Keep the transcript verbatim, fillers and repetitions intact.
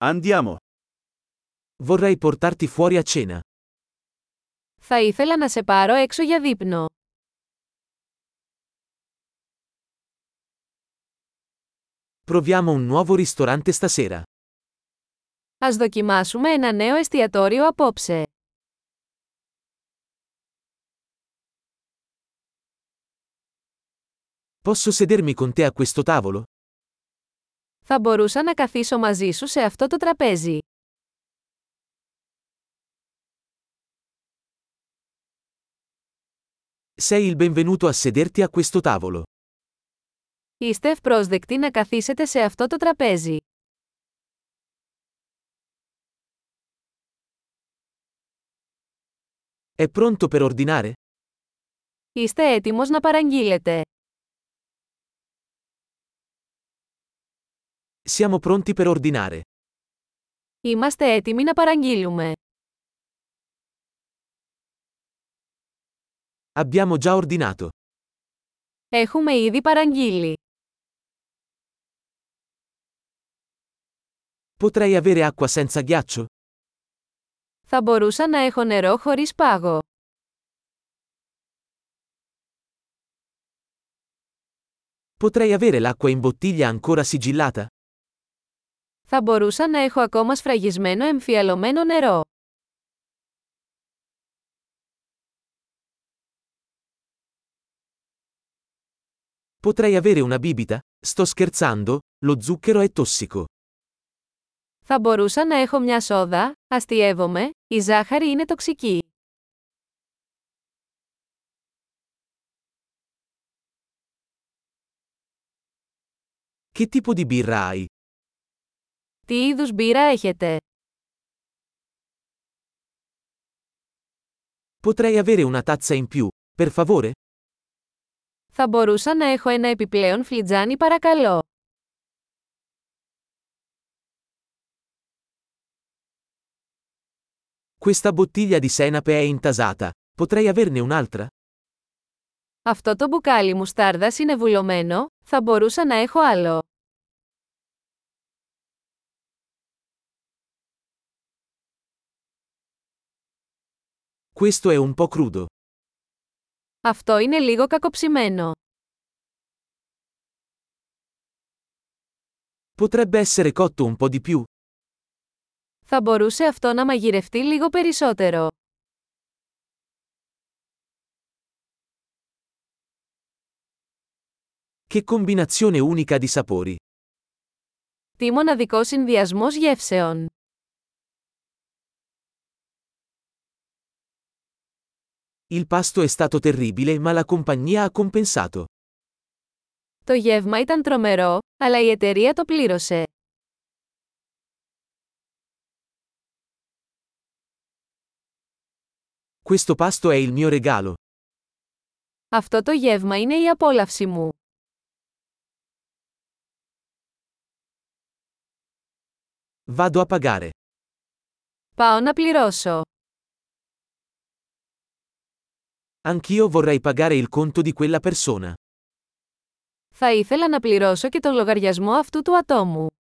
Andiamo. Vorrei portarti fuori a cena. Θα ήθελα να σε πάρω έξω για δείπνο. Proviamo un nuovo ristorante stasera. Ας δοκιμάσουμε ένα νέο εστιατόριο απόψε. Posso sedermi con te a questo tavolo? Θα μπορούσα να καθίσω μαζί σου σε αυτό το τραπέζι. Sei il benvenuto a sederti a questo tavolo. Είστε ευπρόσδεκτοι να καθίσετε σε αυτό το τραπέζι. È pronto per ordinare? Είστε έτοιμος να παραγγείλετε. Siamo pronti per ordinare. Είμαστε έτοιμοι να παραγγείλουμε. Abbiamo già ordinato. Έχουμε ήδη παραγγείλει. Potrei avere acqua senza ghiaccio? Θα μπορούσα να έχω νερό χωρίς πάγο. Potrei avere l'acqua in bottiglia ancora sigillata? Θα μπορούσα να έχω ακόμα σφραγισμένο εμφιαλωμένο νερό. Potrei avere una bibita? Sto scherzando, lo zucchero è tossico. Θα μπορούσα να έχω μια σόδα, αστειεύομαι, η ζάχαρη είναι τοξική. Che tipo di birra hai? Τι είδους μπύρα έχετε? Potrei avere una tazza in più, per favore? Θα μπορούσα να έχω ένα επιπλέον φλιτζάνι παρακαλώ. Questa bottiglia di senape è intasata. Potrei averne un'altra? Αυτό το μπουκάλι μουστάρδας είναι βουλωμένο, θα μπορούσα να έχω άλλο. Questo è un po' crudo. Αυτό είναι λίγο κακοψημένο. Potrebbe essere cotto un po' di più. Θα μπορούσε αυτό να μαγειρευτεί λίγο περισσότερο. Che combinazione unica di sapori. Τι μοναδικό συνδυασμός γεύσεων. Il pasto è stato terribile ma la compagnia ha compensato. Το γεύμα ήταν τρομερό, αλλά η εταιρεία το πλήρωσε. Questo pasto è il mio regalo. Αυτό το γεύμα είναι η απόλαυση μου. Vado a pagare. Πάω να πληρώσω. Anch'io vorrei pagare il conto di quella persona. Θα ήθελα να πληρώσω και τον λογαριασμό αυτού του ατόμου.